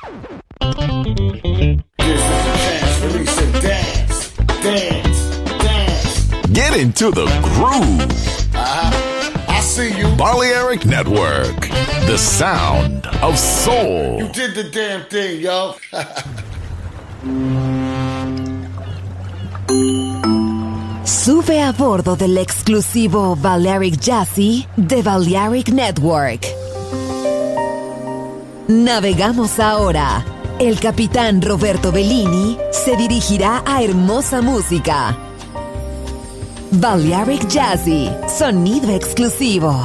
Get into the groove. I see you. Balearic Network, the sound of soul. You did the damn thing, yo. Sube a bordo del exclusivo Balearic Jazzy de Balearic Network. Navegamos ahora. El capitán Roberto Bellini se dirigirá a hermosa música. Balearic Jazzy, sonido exclusivo.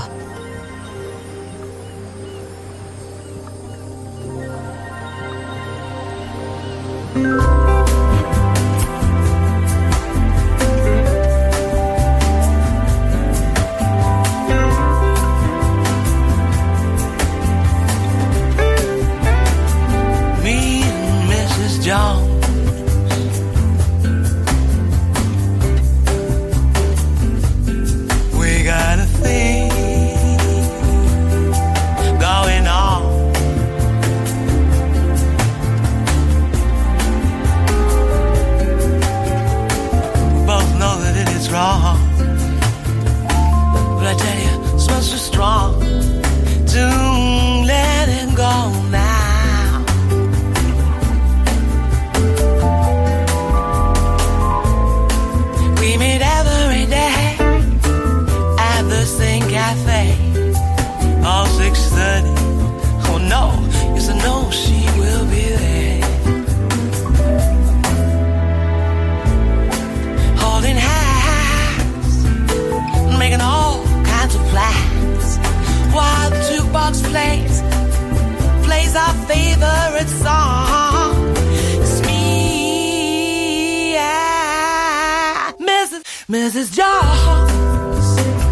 Mrs. Jones.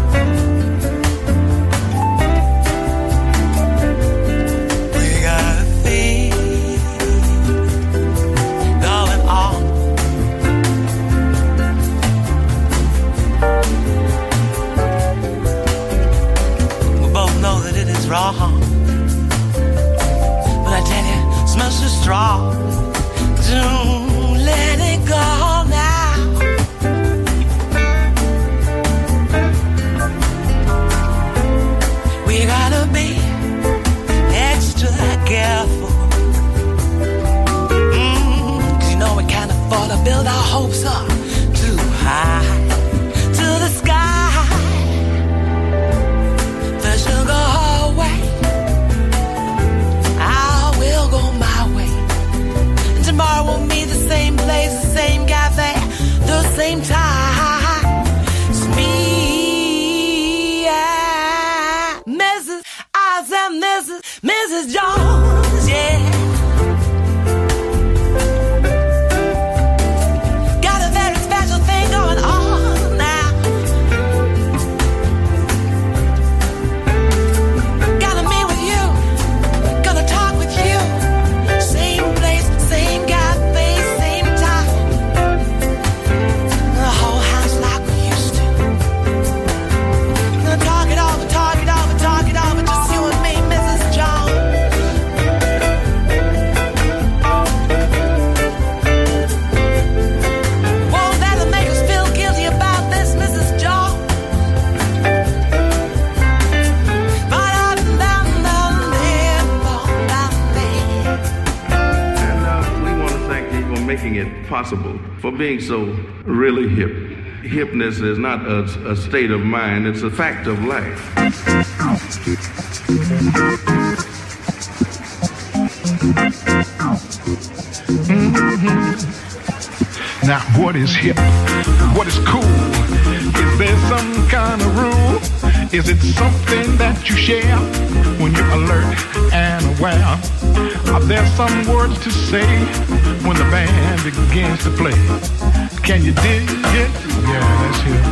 We got a thing going on. We both know that it is wrong, but I tell you, it smells so strong. Don't let it go now. We gotta be extra careful. 'Cause you know we can't afford to build our hopes up too high to the sky. First you'll go her way, I will go my way. And tomorrow we'll meet the same place, the same cafe, the same time. It's me, Mrs. Jones, yeah. Got a very special thing going on now. Gotta meet with you, gonna talk with you. Same place, same cafe, same time. The whole house like we used to. Gonna talk it over, talk it over, talk it over. Just you and me, Mrs. Jones. Won't that make us feel guilty about this, Mrs. Jones? And we want to thank you for making it possible, for being so really hip. Hipness is not a state of mind, it's a fact of life. Now, what is hip? What is cool? Is there some kind of rule? Is it something that you share when you're alert and aware? Are there some words to say when the band begins to play? Can you dig it? Yeah, that's hip.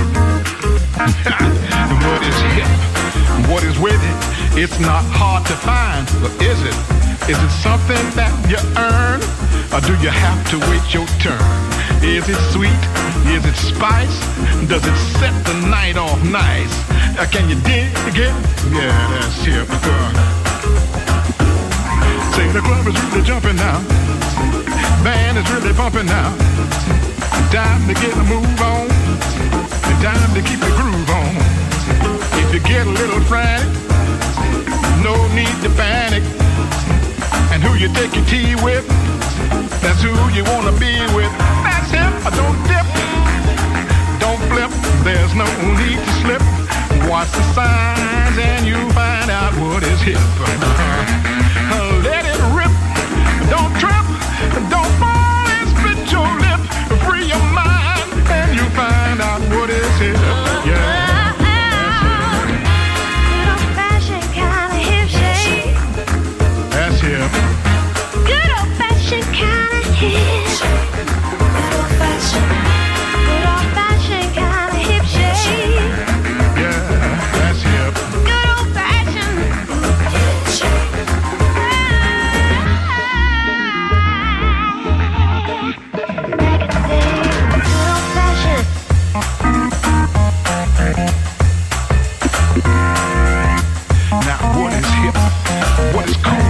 And what is hip? What is with it? It's not hard to find, but is it? Is it something that you earn? Or do you have to wait your turn? Is it sweet? Is it spice? Does it set the night off nice? Can you dig it? Yeah, that's hip. say the club is really jumping now. Band is really bumping now. Time to get a move on. And time to keep the groove on. If you get a little frantic, no need to panic. And who you take your tea with, that's who you wanna be with. That's him. Don't dip, don't flip. There's no need to slip. Watch the signs and you find out what is hip. Let it rip. Don't trip. Don't fall and split your lip. Free your mind and you find out what is hip. Yeah. Good old-fashioned kind of hip shake. That's hip. Good old-fashioned kind of hip. Good old-fashioned kind of hip shake. Yeah, that's hip. Good old-fashioned hip shake. Back in the day, good old-fashioned. Now what is hip? What is cool?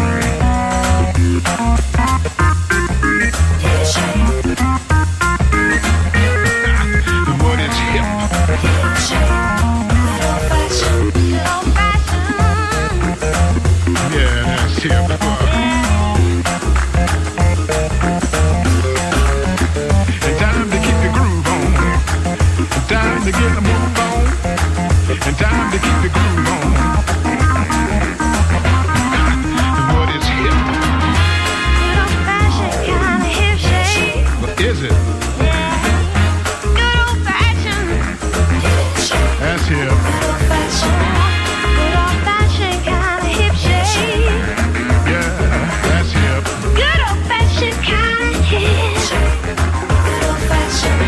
What is hip? Yeah, that's hip. And time to keep the groove on. And time to get the move on. And time to keep the groove on. What is hip? Good old-fashioned kind of hip shake. What is it? Good old-fashioned hip shake. That's hip. Good old-fashioned kind of hip shake. Yeah, that's hip. Good old-fashioned kind of hip shake. Good old-fashioned.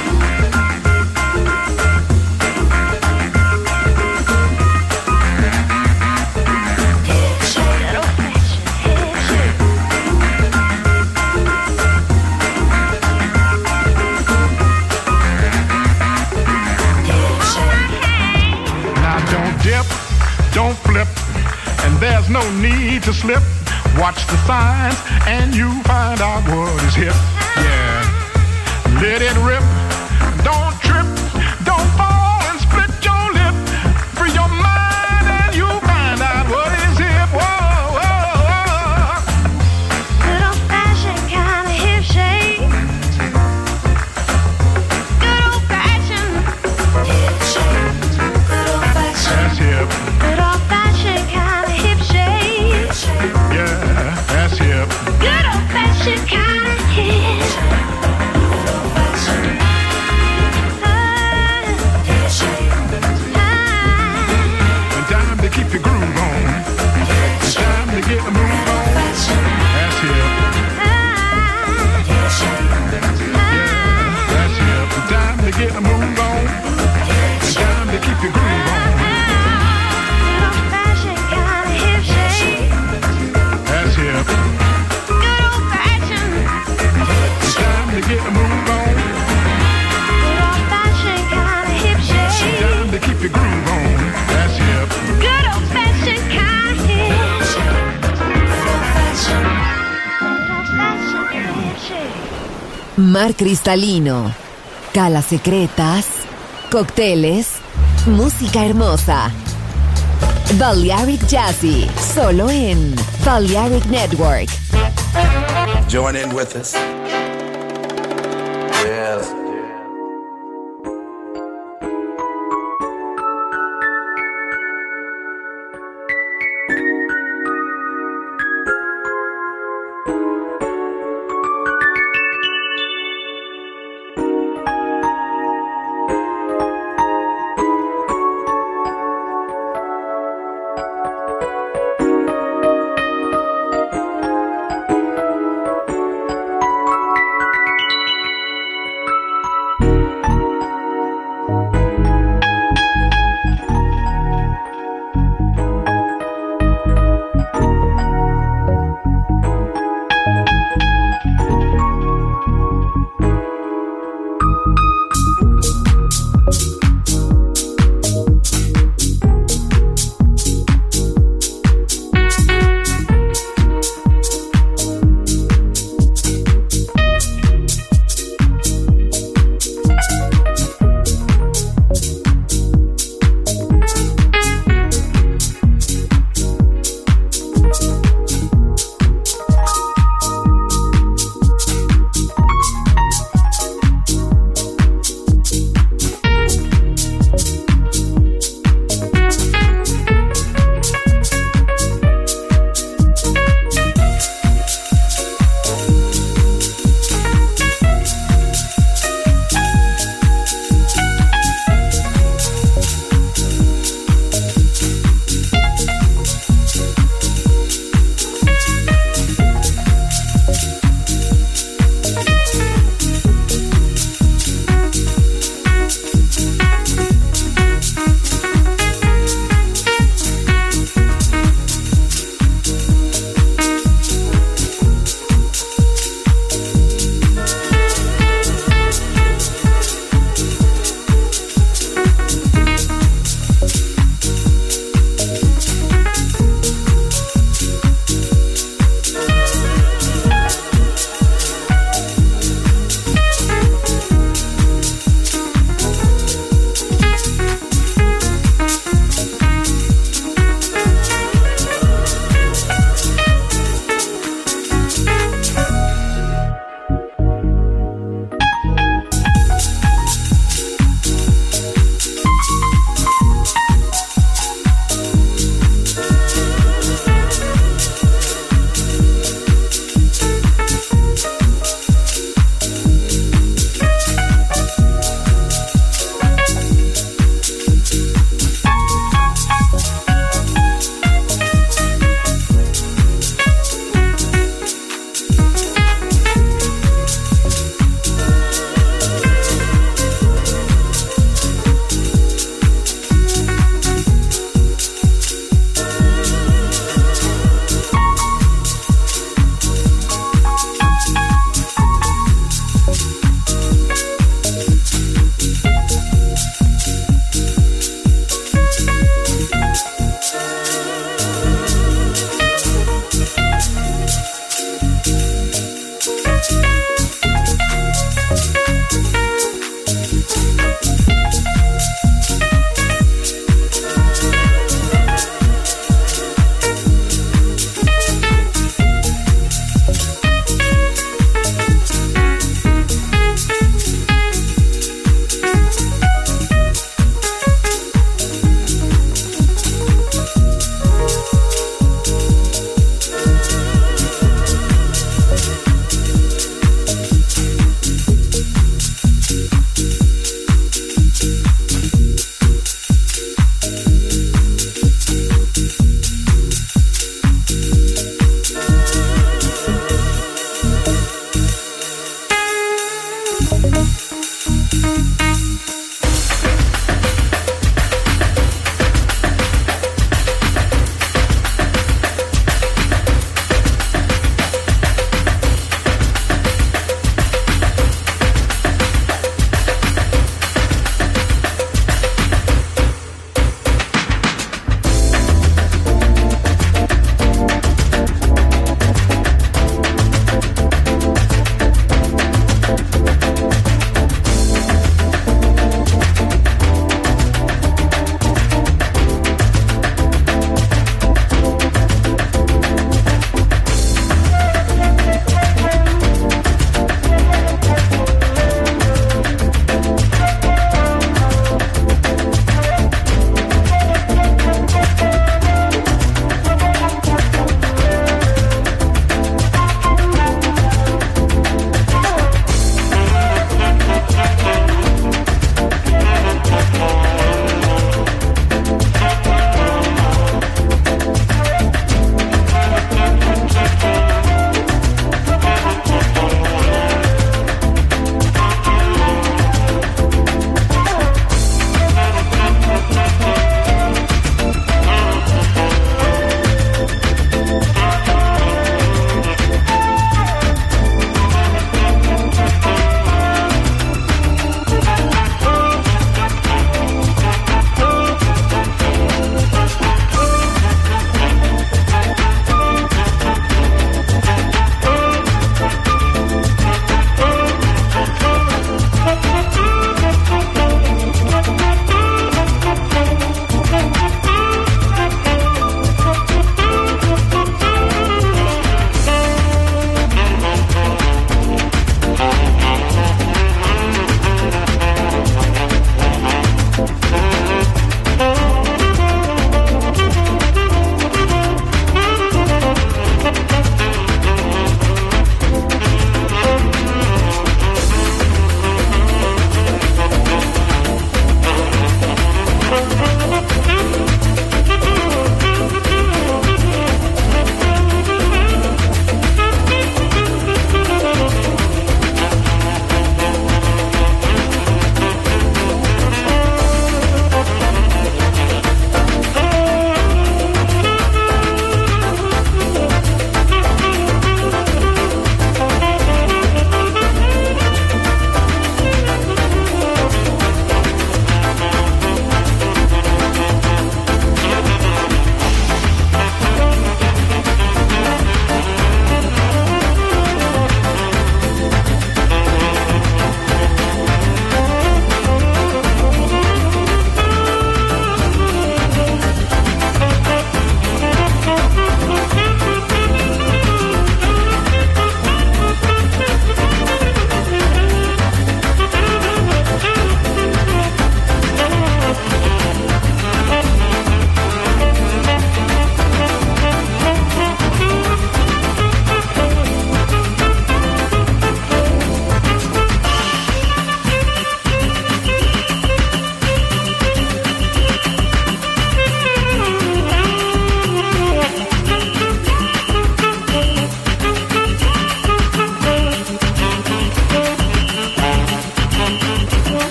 Hip shake. Good old-fashioned hip shake. Hip shake. Now don't dip, don't flip, and there's no need to slip. Watch the signs and you find out what is hip. Yeah, let it rip. Don't trip, don't fall and split your lip. Free your mind and you find out what is hip. Whoa, whoa, whoa. Good old-fashioned kind of hip shake. Good old-fashioned hip shake. Good old-fashioned. That's hip. Good old-fashioned kind of hip shake. Yeah, that's hip. Good old-fashioned kind of hip shake. Good old-fashioned hip shake. And time to keep the groove on. And time to get the move on. That's hip. That's hip. And time to get the move on. And time to keep the groove on. Good old-fashioned kind of hip shake. That's hip. Good old-fashioned It's time to get the move on. Good old-fashioned kind of hip shake. Time to keep the groove on. That's hip. Good old-fashioned kind of hip shake. Good old-fashioned. Good old-fashioned hip shake. Mar cristalino, calas secretas, cócteles, música hermosa. Balearic Jazzy, solo en Balearic Network. Join in with us. Yes.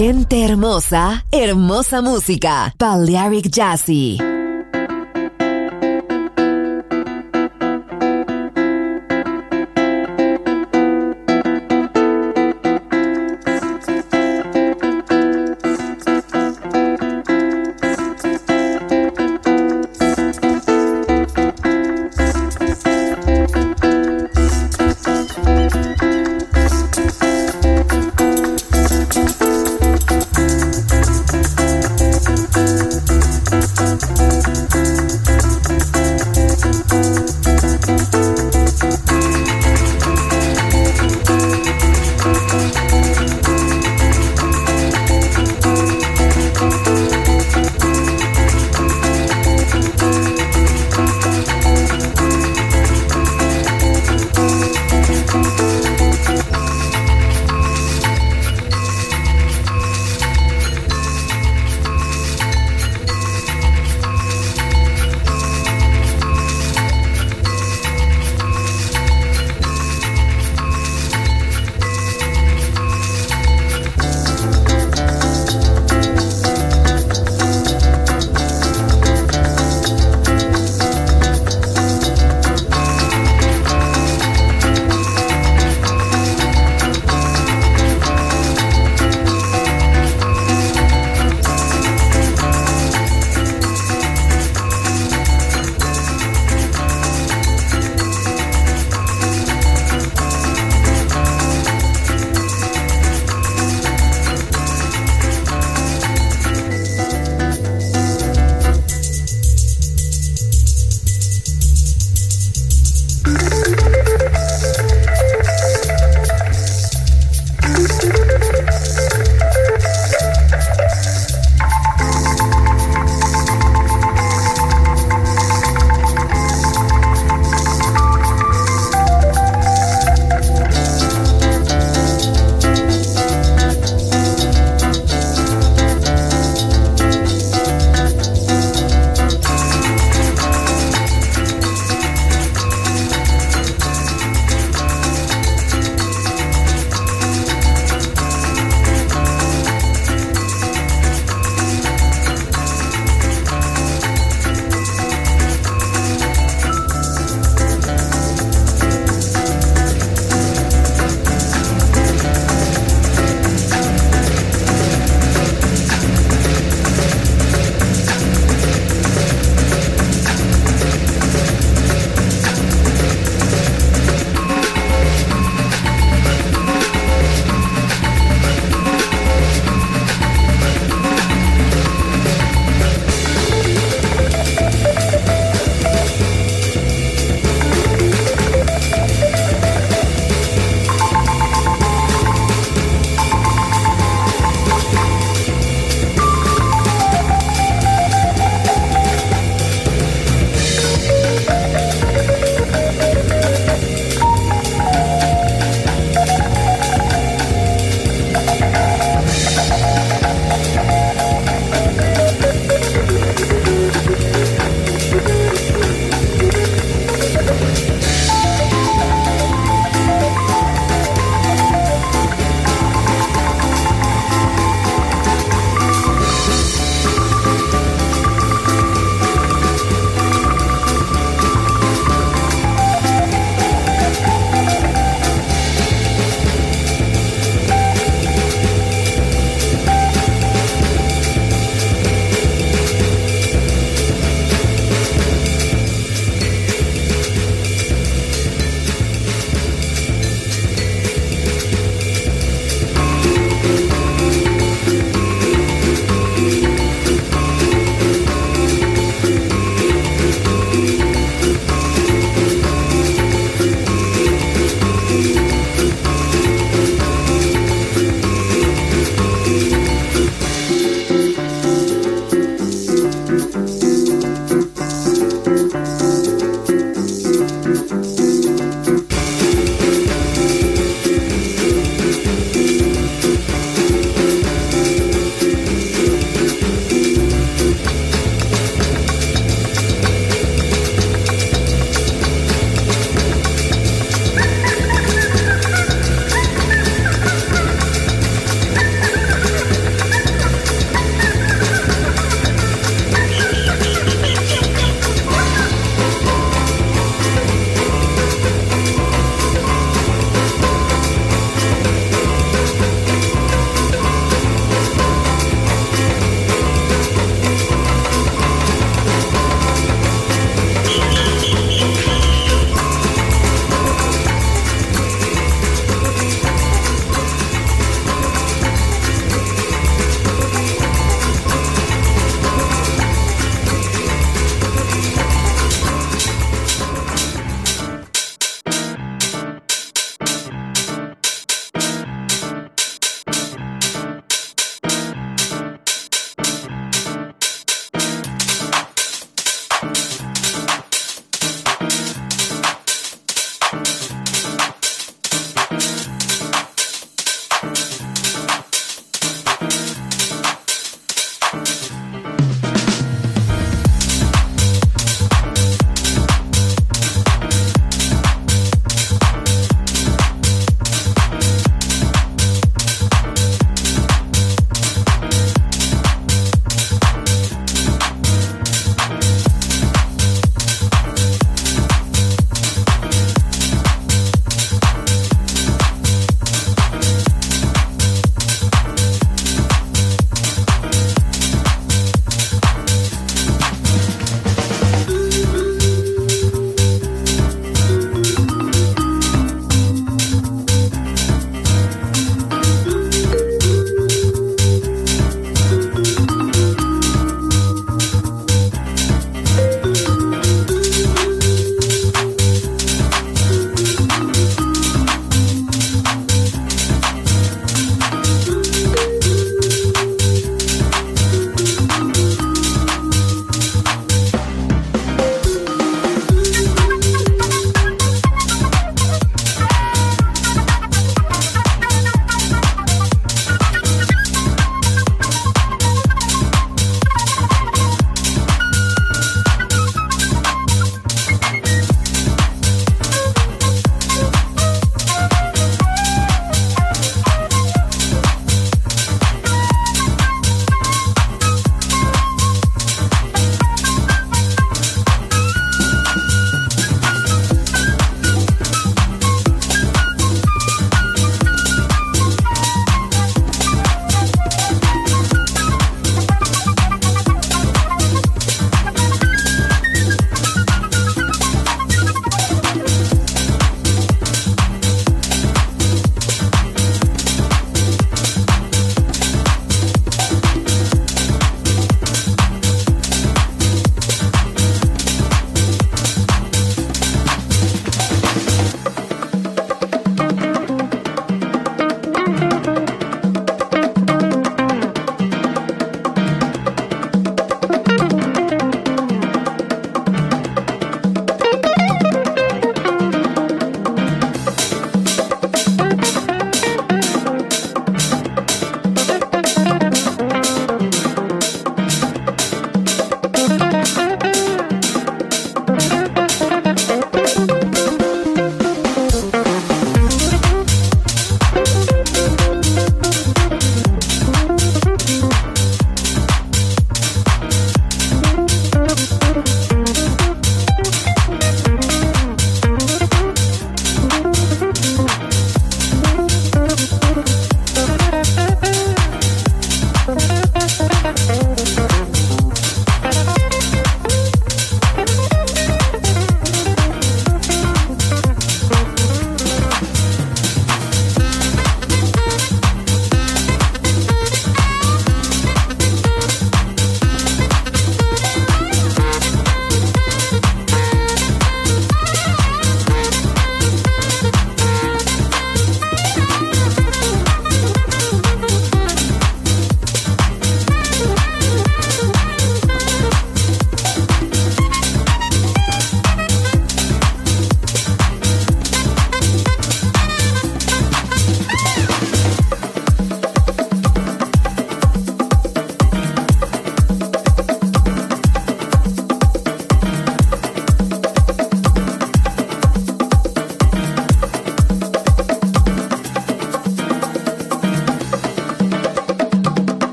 Gente hermosa, hermosa música. Balearic Jazzy.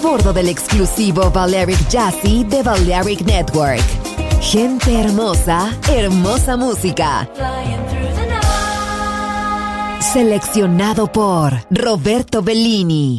bordo del exclusivo Balearic Jazzy de Balearic Network. Gente hermosa, hermosa música. Seleccionado por Roberto Bellini.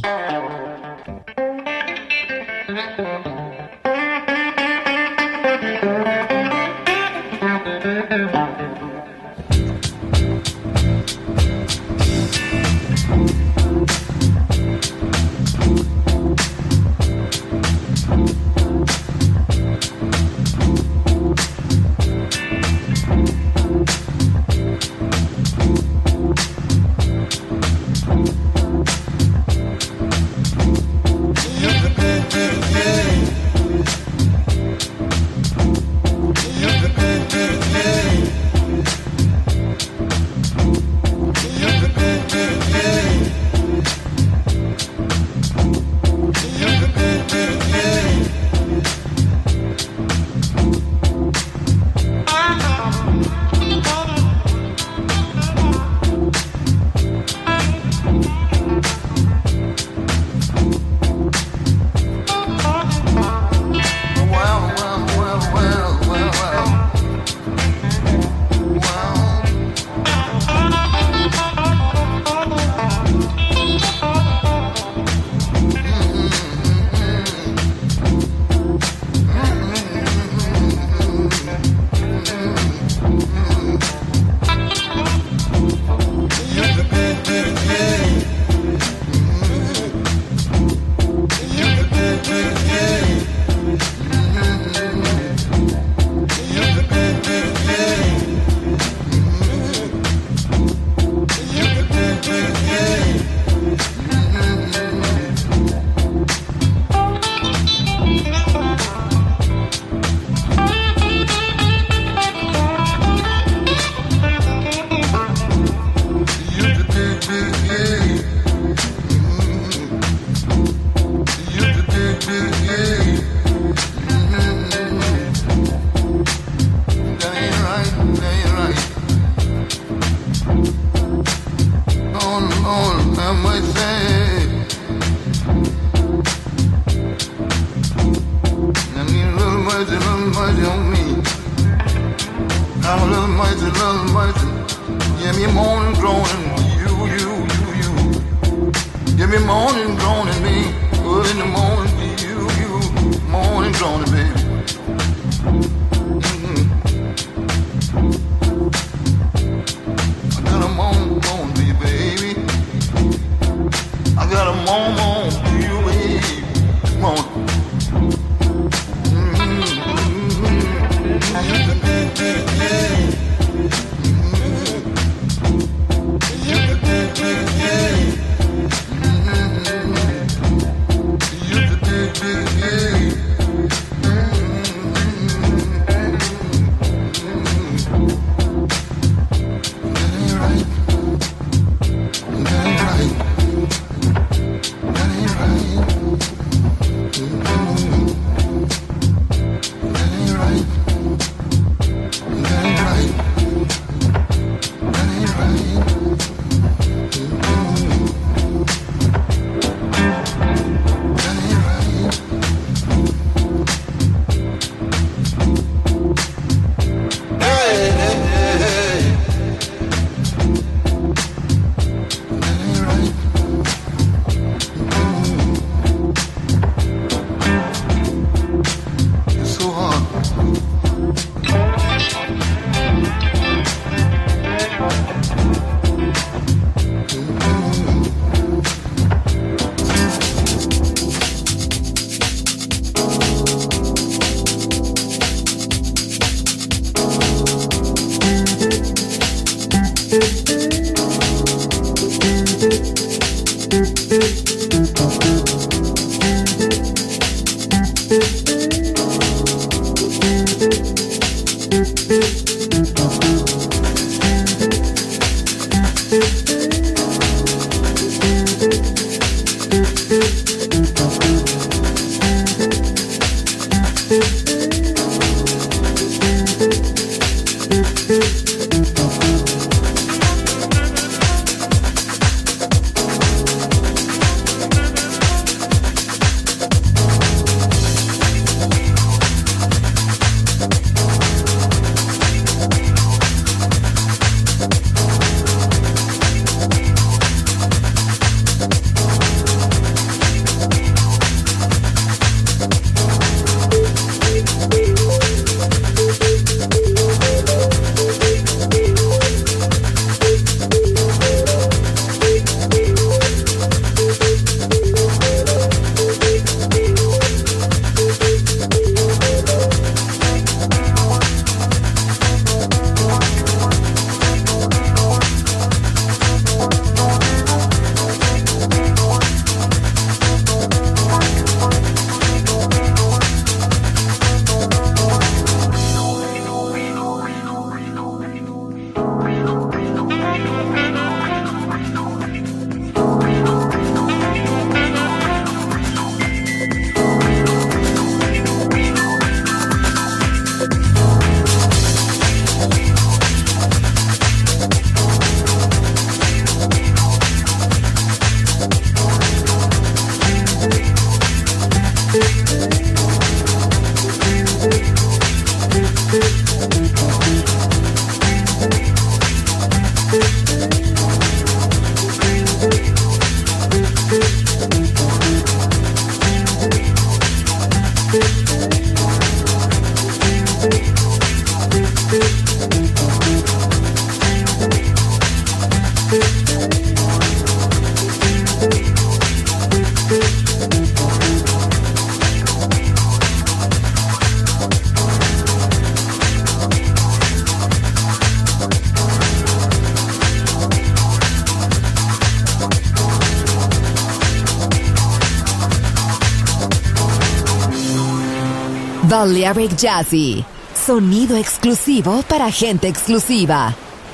Balearic Jazzy. Sonido exclusivo para gente exclusiva.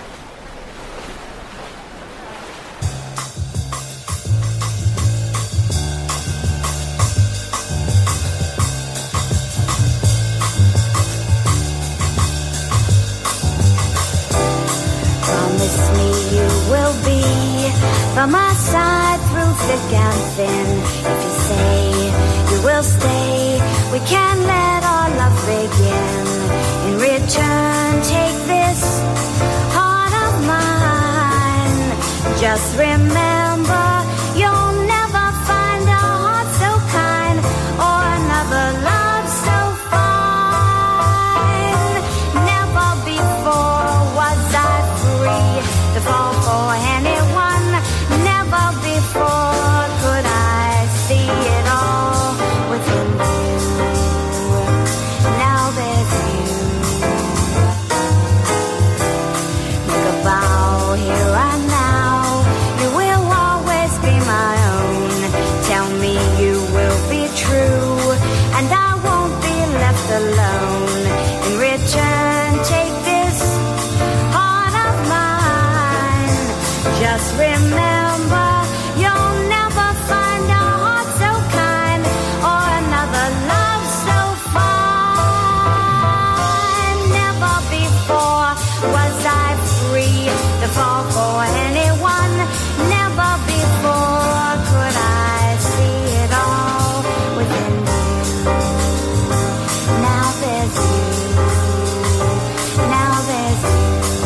Promise me you will be by my side through thick and thin. If you say you will stay, we can let our love begin. In return, take this heart of mine. Just remember, you'll never find a heart so kind or another love so fine. Never before was I free to fall for anyone. Never before could I see it all within you. Now there's you. Make a vow here and now. You will always be my own. Tell me you will be true, and I won't be left alone. In return, take this heart of mine. Just remember, you'll never find a heart so kind or another love so fine. Never before was I free to fall for anyone. Never before could I see it all within you. Now there's you. Now there's you.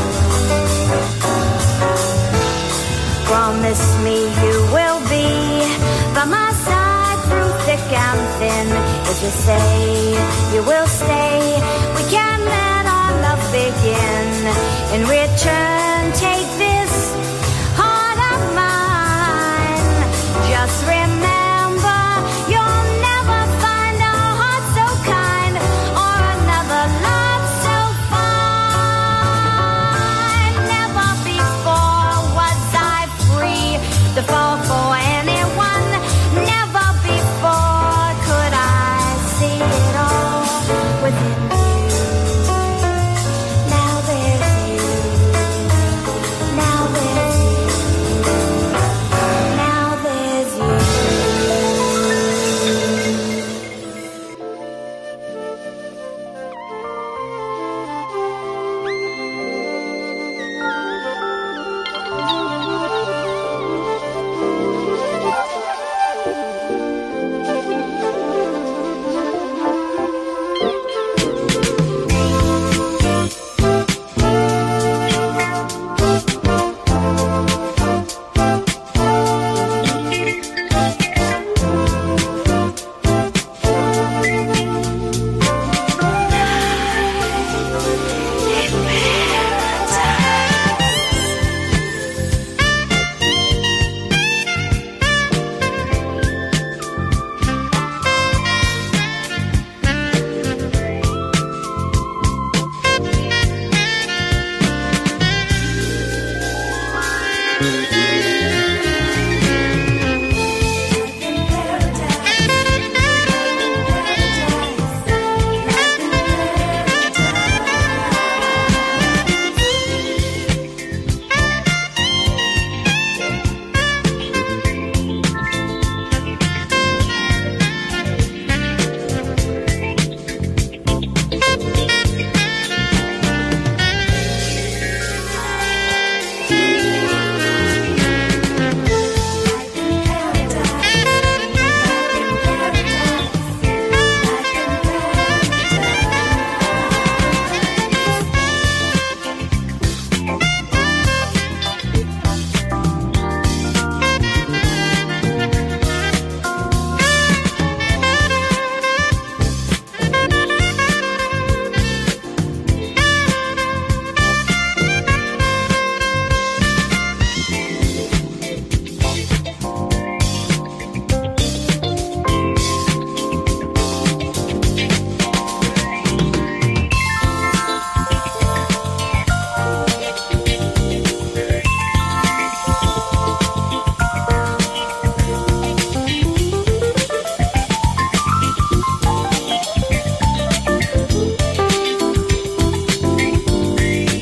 Promise me you will be by my side through thick and thin. If you say you will stay, we can let our love begin. In return, take this heart of mine. Just remember, you'll never find a heart so kind or another love so fine. Never before was I free to fall for anyone. Never before could I see it all with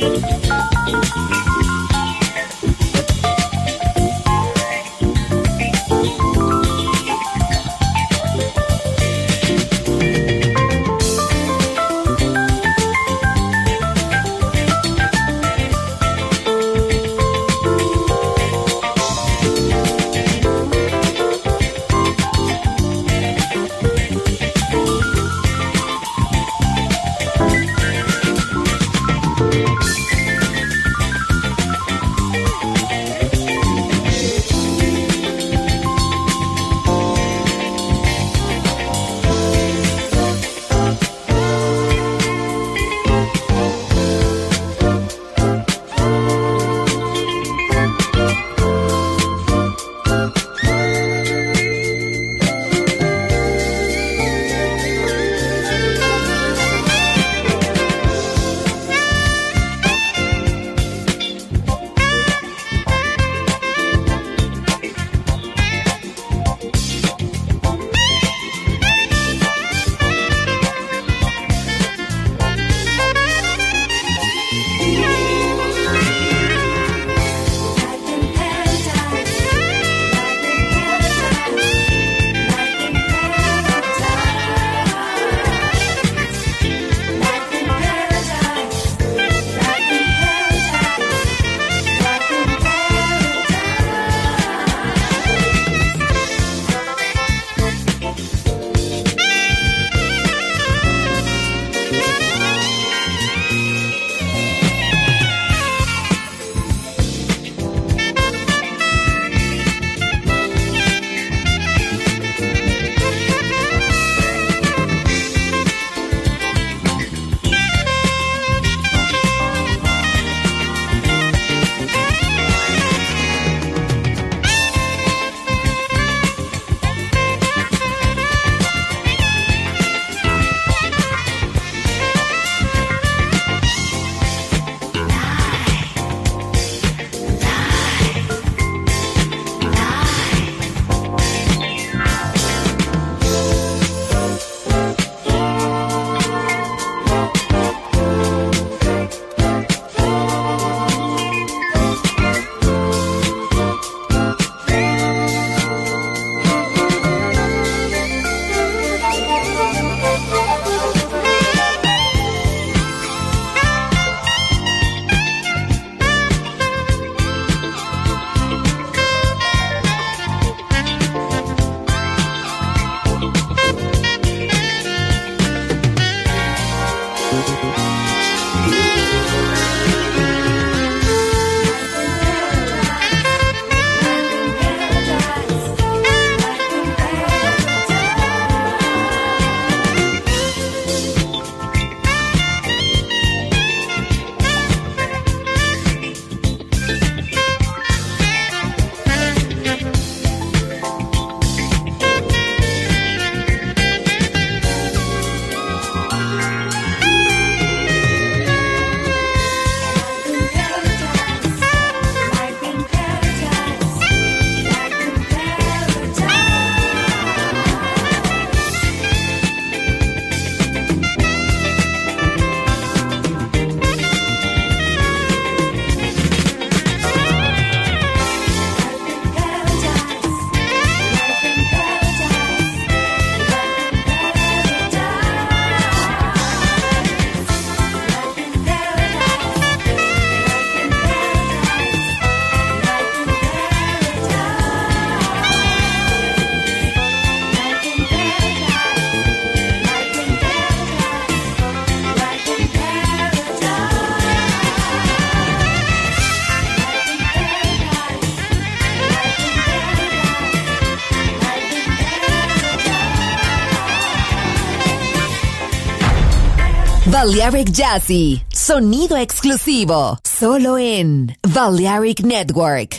Balearic Jazzy, sonido exclusivo, solo en Balearic Network.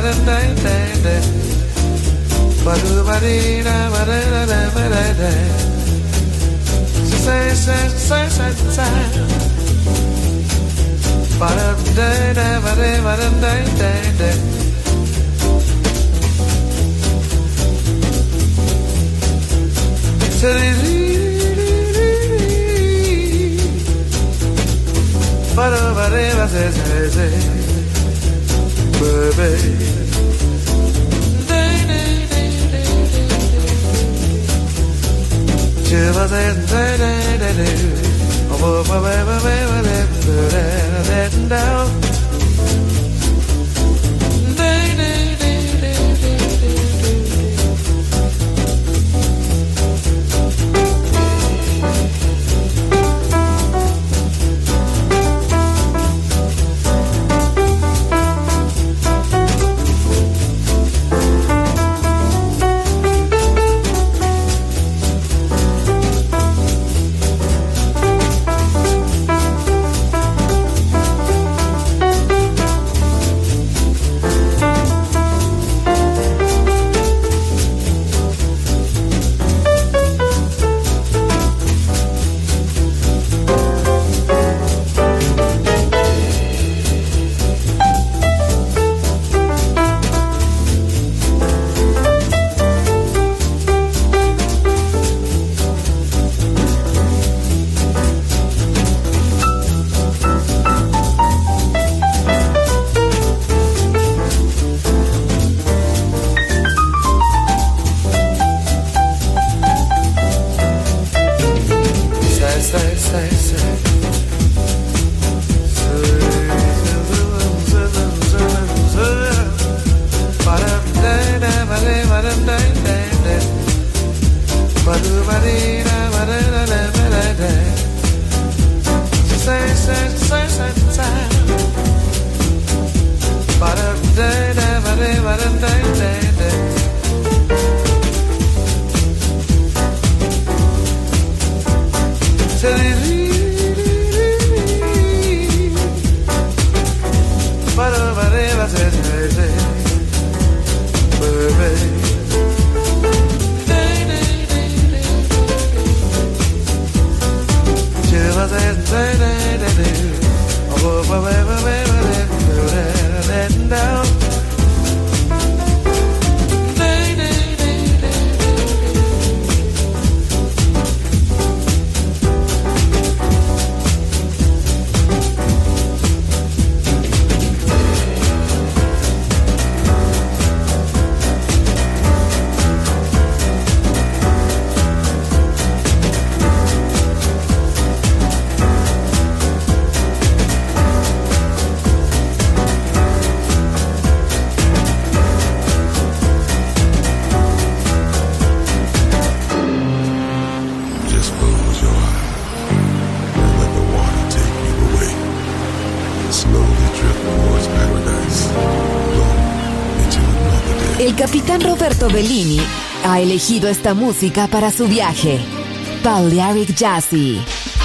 El capitán Roberto Bellini ha elegido esta música para su viaje. Balearic Jazzy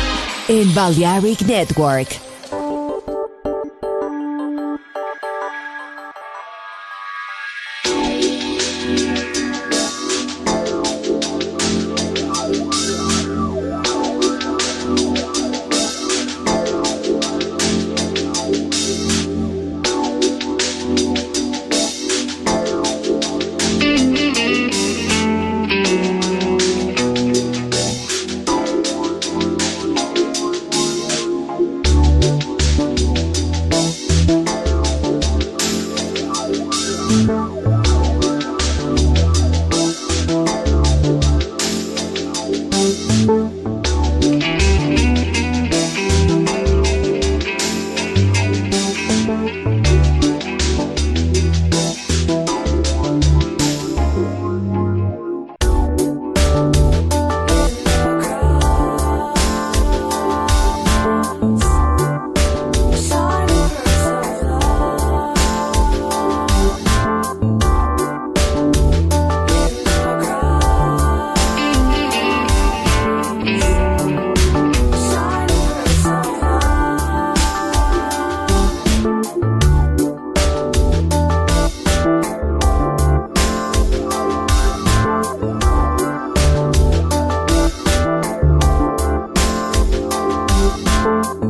en Balearic Network. Soul.